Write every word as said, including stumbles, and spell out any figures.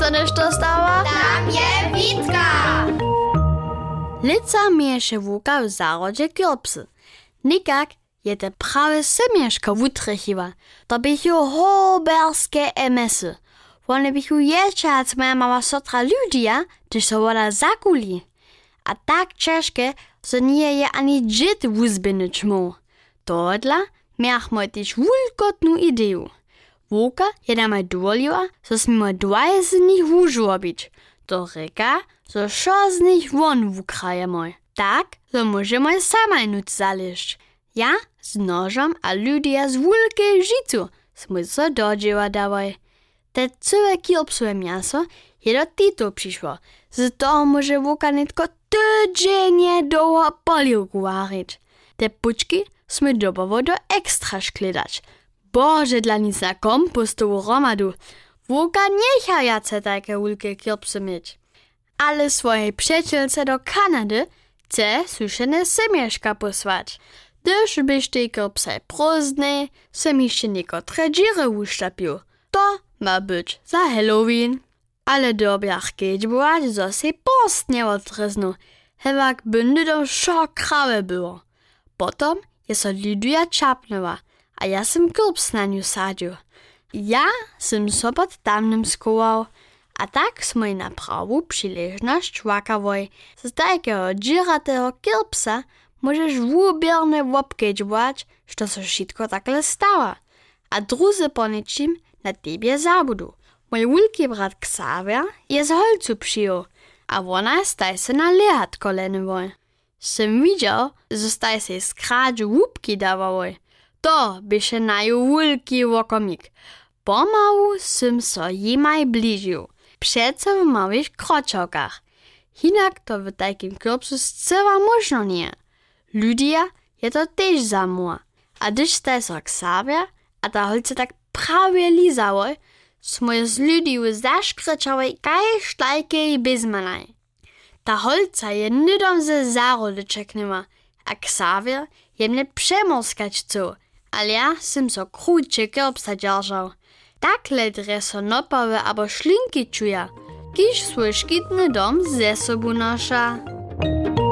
sa nešto stała? Tam je Witka! Lica mieješe Wuka w zarodzie kielpsy. Nikak je te prawe semieszko wutrychiwa. To bychu hoberskie emesy. One bychu jeszcze, jak moja mama sotra ludia, gdyż so woda zakuli. A tak ciężkie, że nie je ani dzit wuzbynyć mu. Tohodla miachmy też wulkotną ideę. Wuka je nam dowoliła, że smimy dwaje z nich wużobić. To reka, że szo z nich won wukrajemy. Tak, że możemy samaj nuc zaleźć. Ja z nożem a ludia z wulkiej życiu sme so dodzieła dawaj. Te całe kielpsue miaso je do Tito przyszło. Z toho może Wuka netko tydzienie długo poliwku warić. Te puczki sme dobowo do ekstra szkledać. Boże, dla nic na kompostową romadu. Wuka nie chciajace takie wulkie kielpsy mieć. Ale swojej przyjacielce do Kanady chce suszene semieszka posłać. Gdyż byś te kielpsy prózdne, sem jeszcze niekotre dziry uszczapił. To ma być za Halloween. Ale dobiach kiedy była, że się post nie odryznu. Hewak by do szo krawe było. Potom je so Lydia czapnęła, a ja sem kielps na nią sadził. Ja sem so pod tamnym skował, a tak smo na prawą przyleżność łakawoj. Z takiego dziratego kielpsa możesz wubierne wopkedźwać, što so wszystko takle stała. A druzy po niczym na tebie zabudu. Mój wulki brat Xavier je z holcu przyjął, a ona staj se na lehat kolenowoj. Sem widział, że staj se z kradżu łupki dawałoj. To byše na ju wulki wokomik. Pomału sem so jemaj bližił. Přece w małych kroczokach. Hinak to w takim kielpsu zcela možno nie. Ludia je to też zamła. A gdyż staj so Xavier, a ta holce tak prawie lizałoj, smo je z Lydiu zaškrčałoj kaj štajkej bezmanaj. Ta holca je nydom ze zarody czeknęła, a Xavier je mnie przemorskać chcą, ale ja sem so krótsze kielpsa dzierżał. Tak ledre so nopawe abo szlinki czuja, kiż swój szkitny dom ze sobą nosza.